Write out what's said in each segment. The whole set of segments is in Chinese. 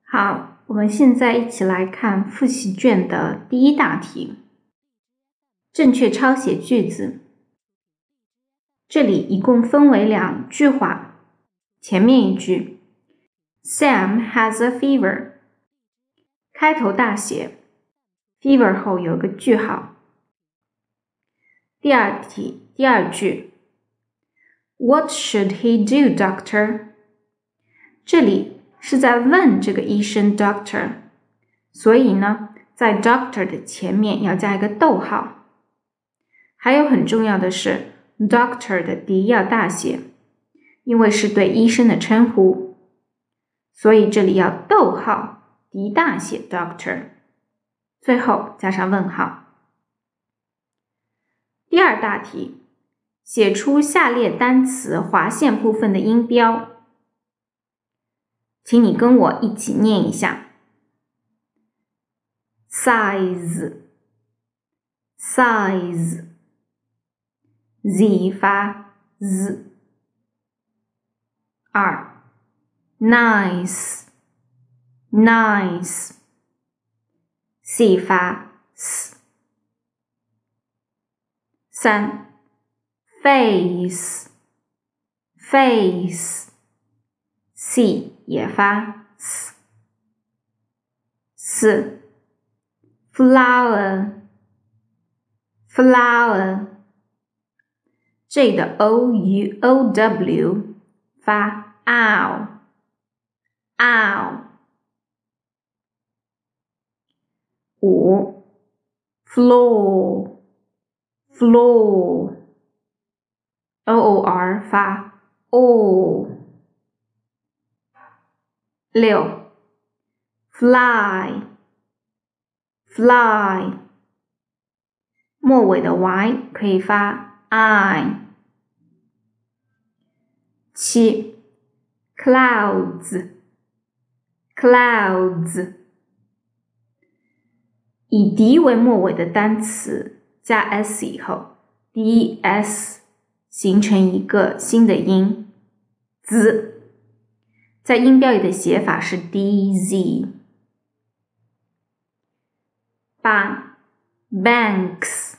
好，我们现在一起来看复习卷的第一大题。正确抄写句子。这里一共分为两句话。前面一句 Sam has a fever， 开头大写 fever 后有个句号。第二句 What should he do, doctor？ 这里是在问这个医生 doctor， 所以呢，在 doctor 的前面要加一个逗号。还有很重要的是 doctor 的D要大写，因为是对医生的称呼，所以这里要逗号 D 大写 doctor， 最后加上问号。第二大题，写出下列单词划线部分的音标。请你跟我一起念一下 size Z 发 Z。 2 nice C 发 S。 3 face C 也发 S。 4 flower这的 OUOW 发 ow。 5 floor OOR 发 O。 6 fly 末尾的 Y 可以发 I。 7 clouds 以 D 为末尾的单词加 S 以后 DS 形成一个新的音 Z， 在音标里的写法是 DZ。 8 banks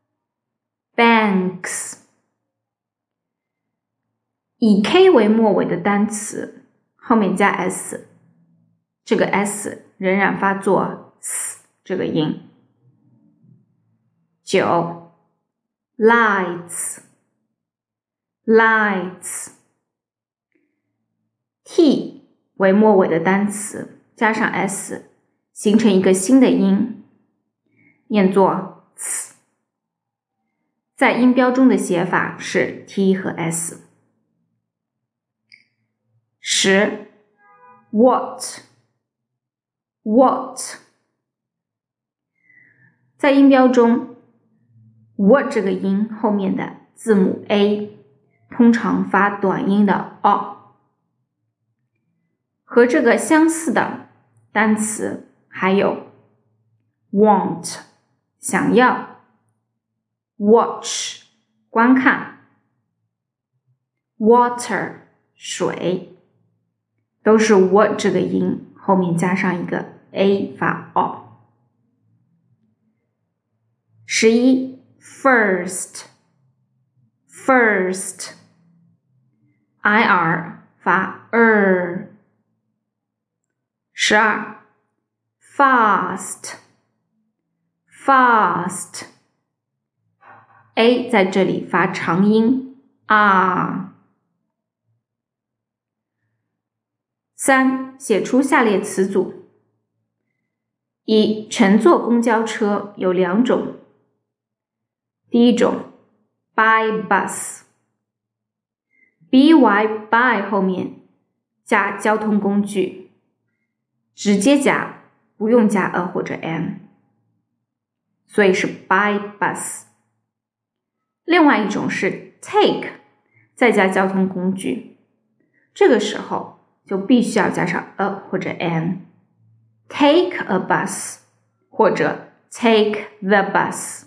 以 K 为末尾的单词后面加 S， 这个 S 仍然发作 S 这个音。9 lights T 为末尾的单词加上 S 形成一个新的音，念作 S， 在音标中的写法是 T 和 S。 10 what 在音标中 what 这个音后面的字母 A 通常发短音的 O。 和这个相似的单词还有 want 想要， watch 观看， water 水，都是 what 这个音后面加上一个 A 发 O。 11 first IR 发 12 fast A 在这里发长音 R。 3 写出下列词组。1 乘坐公交车有两种。第一种 by bus by by 后面加交通工具，直接加，不用加 a 或者 an， 所以是 by bus。 另外一种是 take 再加交通工具，这个时候就必须要加上 a 或者 an， take a bus 或者 take the bus。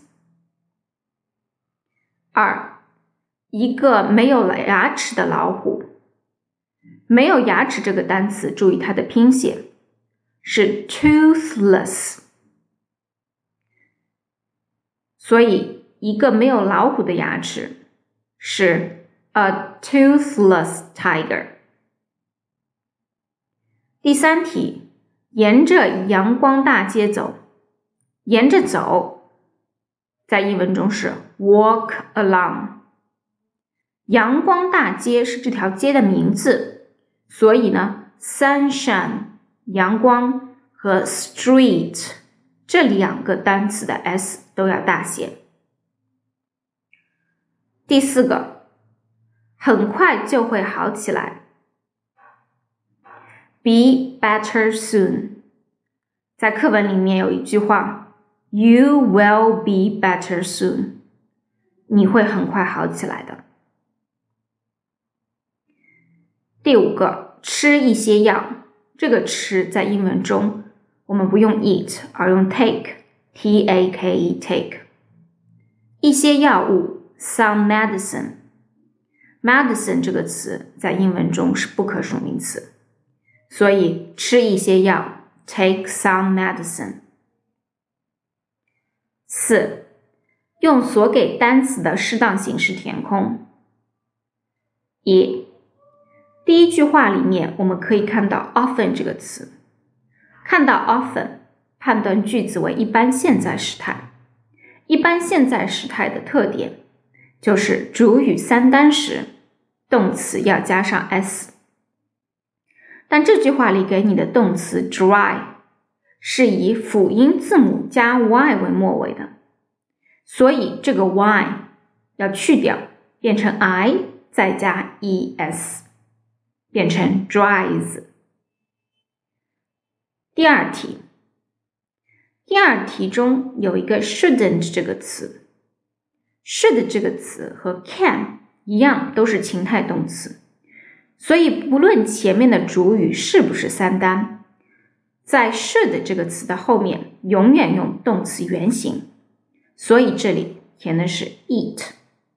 2一个没有牙齿的老虎。没有牙齿这个单词，注意它的拼写是 toothless， 所以一个没有老虎的牙齿是 a toothless tiger。第三题，沿着阳光大街走，沿着走，在英文中是 walk along。阳光大街是这条街的名字，所以呢 sunshine 阳光和 street 这两个单词的 s 都要大写。第四个，很快就会好起来， be better soon。 在课文里面有一句话 You will be better soon， 你会很快好起来的。第五个，吃一些药，这个吃在英文中我们不用 eat 而用 take， T-A-K-E take。 一些药物 some medicine， medicine 这个词在英文中是不可数名词，所以吃一些药 take some medicine。 4. 用所给单词的适当形式填空。1. 第一句话里面我们可以看到 often 这个词，看到 often 判断句子为一般现在时态。一般现在时态的特点就是主语三单时动词要加上 s， 但这句话里给你的动词 dry 是以辅音字母加 y 为末尾的，所以这个 y 要去掉，变成 i 再加 es， 变成 dries。 第二题中有一个 shouldn't 这个词， should 这个词和 can 一样都是情态动词，所以不论前面的主语是不是三单，在 should 这个词的后面永远用动词原形，所以这里填的是 eat。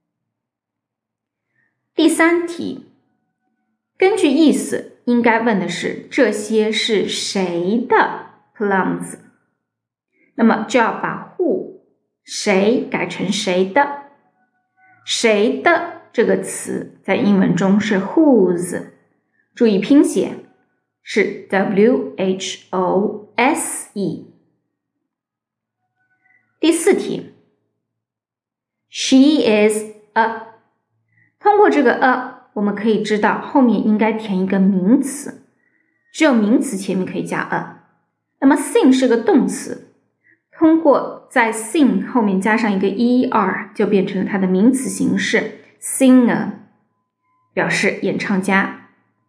第三题，根据意思应该问的是这些是谁的 plums， 那么就要把 who 谁改成谁的。谁的这个词在英文中是 whose， 注意拼写是 W-H-O-S-E。 第四题， She is a， 通过这个 a 我们可以知道后面应该填一个名词，只有名词前面可以加 a。 那么 sing 是个动词，通过在 sing 后面加上一个 er 就变成了它的名词形式 singer， 表示演唱家。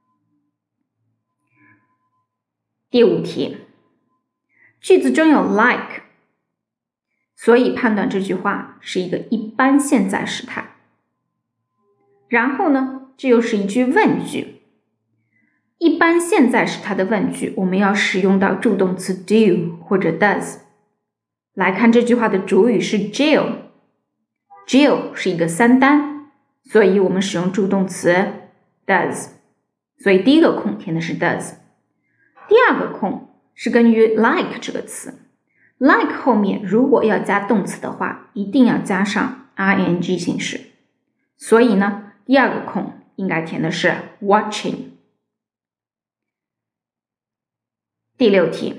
第五题，句子中有 like， 所以判断这句话是一个一般现在时态。然后呢，这又是一句问句，一般现在时态的问句我们要使用到助动词 do 或者 does。 来看这句话的主语是 Jill， Jill 是一个三单，所以我们使用助动词 does， 所以第一个空填的是 does。 第二个空是根据 like 这个词， like 后面如果要加动词的话一定要加上 ing 形式，所以呢第二个空应该填的是 watching。 第六题，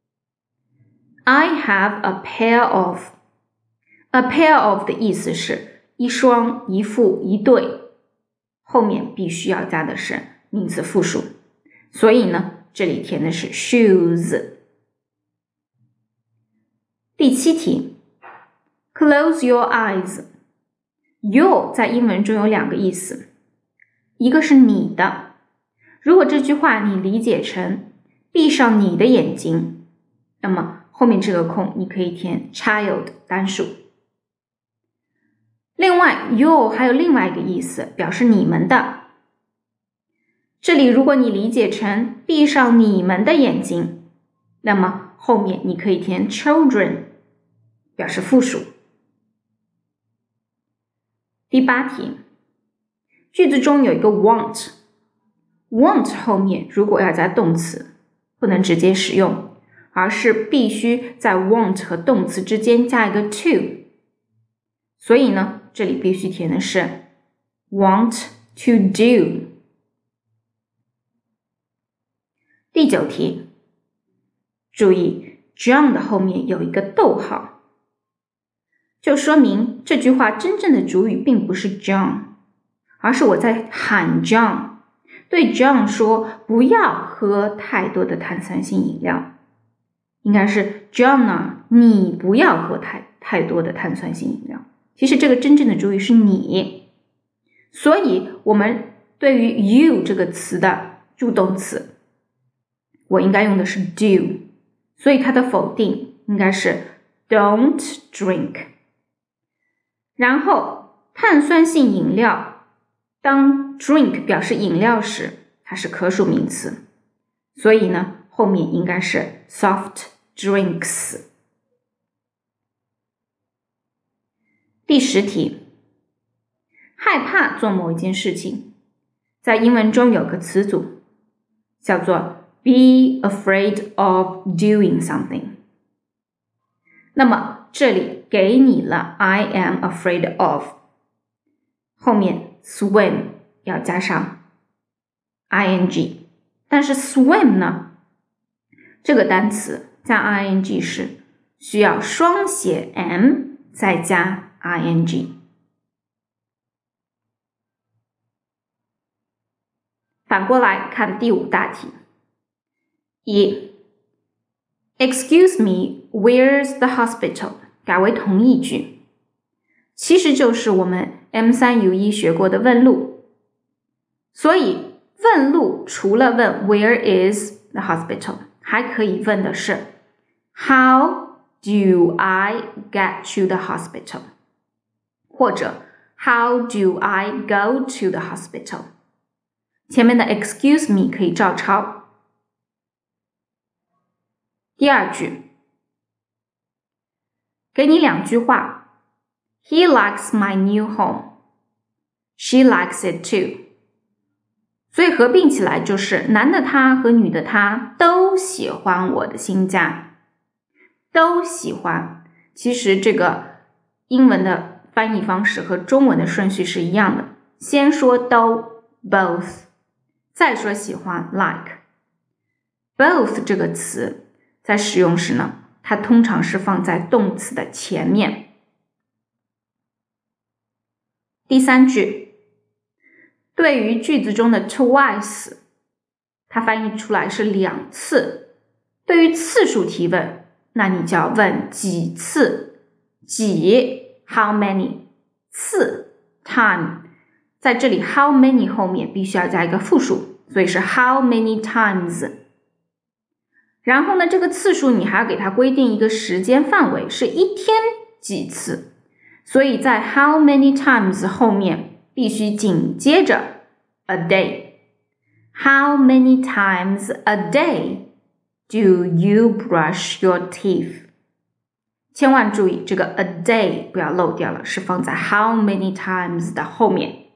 I have a pair of， a pair of 的意思是一双一副一对，后面必须要加的是名词复数，所以呢这里填的是 shoes。 第七题， Close your eyes， your 在英文中有两个意思，一个是你的，如果这句话你理解成闭上你的眼睛，那么后面这个空你可以填 child 单数。另外 your 还有另外一个意思，表示你们的，这里如果你理解成闭上你们的眼睛，那么后面你可以填 children 表示复数。第八题，句子中有一个 want， want 后面如果要加动词不能直接使用，而是必须在 want 和动词之间加一个 to。所以呢，这里必须填的是 want to do。第9题，注意 John 的后面有一个逗号，就说明这句话真正的主语并不是 John， 而是我在喊 John， 对 John 说不要喝太多的碳酸性饮料，应该是 John 啊，你不要喝太多的碳酸性饮料。其实这个真正的主语是你，所以我们对于 you 这个词的助动词，我应该用的是 do， 所以它的否定应该是 don't drink。 然后碳酸性饮料当 drink 表示饮料时，它是可数名词，所以呢后面应该是 soft drinks。第10题，害怕做某一件事情，在英文中有个词组叫做 be afraid of doing something。 那么这里给你了 I am afraid of， 后面 swim 要加上 ing， 但是 swim 呢，这个单词加 ing 时需要双写 m 再加ing。 反过来看第5大题。1 Excuse me, where's the hospital? 改为同义句，其实就是我们 M3U1 学过的问路。所以问路除了问 Where is the hospital， 还可以问的是 How do I get to the hospital？或者 How do I go to the hospital？ 前面的 excuse me 可以照抄。第2句，给你2句话 He likes my new home， She likes it too。 所以合并起来就是男的他和女的他都喜欢我的新家。都喜欢，其实这个英文的翻译方式和中文的顺序是一样的，先说都 both， 再说喜欢 like。 both 这个词在使用时呢，它通常是放在动词的前面。第3句，对于句子中的 twice， 它翻译出来是2次。对于次数提问，那你就要问几次，几 how many， 次 time， 在这里 how many 后面必须要加一个复数，所以是 how many times。 然后呢，这个次数你还要给它规定一个时间范围，是一天几次，所以在 how many times 后面必须紧接着 a day。 How many times a day do you brush your teeth？ 千万注意这个 a day 不要漏掉了，是放在 how many times 的后面。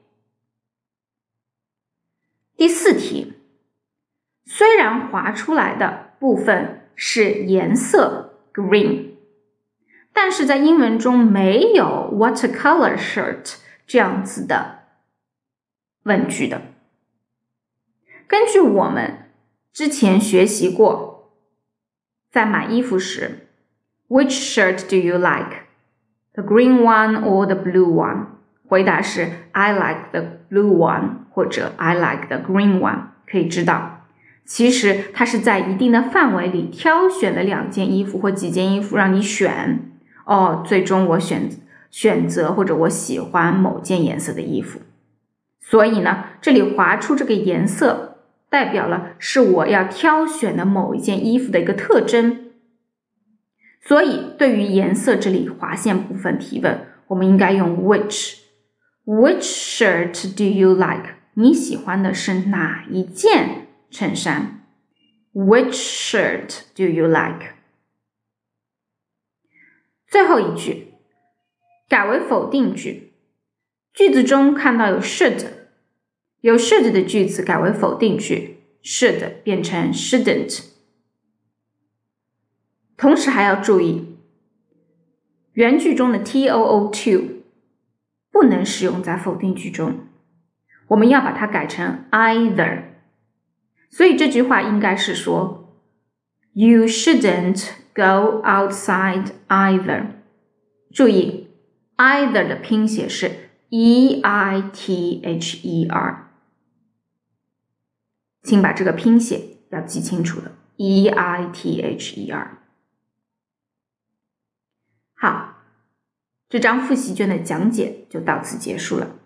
第4题，虽然划出来的部分是颜色 green， 但是在英文中没有 what color shirt 这样子的问句的。根据我们之前学习过，在买衣服时 Which shirt do you like? The green one or the blue one? 回答是 I like the blue one 或者 I like the green one。 可以知道其实它是在一定的范围里挑选了2件衣服或几件衣服让你选，最终我选择或者我喜欢某件颜色的衣服。所以呢，这里划出这个颜色代表了是我要挑选的某一件衣服的一个特征。所以对于颜色这里划线部分提问，我们应该用 which shirt do you like？ 你喜欢的是哪一件衬衫？ Which shirt do you like？ 最后一句改为否定句，句子中看到有 should 的句子改为否定句， should 变成 shouldn't， 同时还要注意，原句中的 too 不能使用在否定句中，我们要把它改成 either。所以这句话应该是说 You shouldn't go outside either。 注意 either 的拼写是 EITHER， 请把这个拼写要记清楚了， EITHER。 好，这张复习卷的讲解就到此结束了。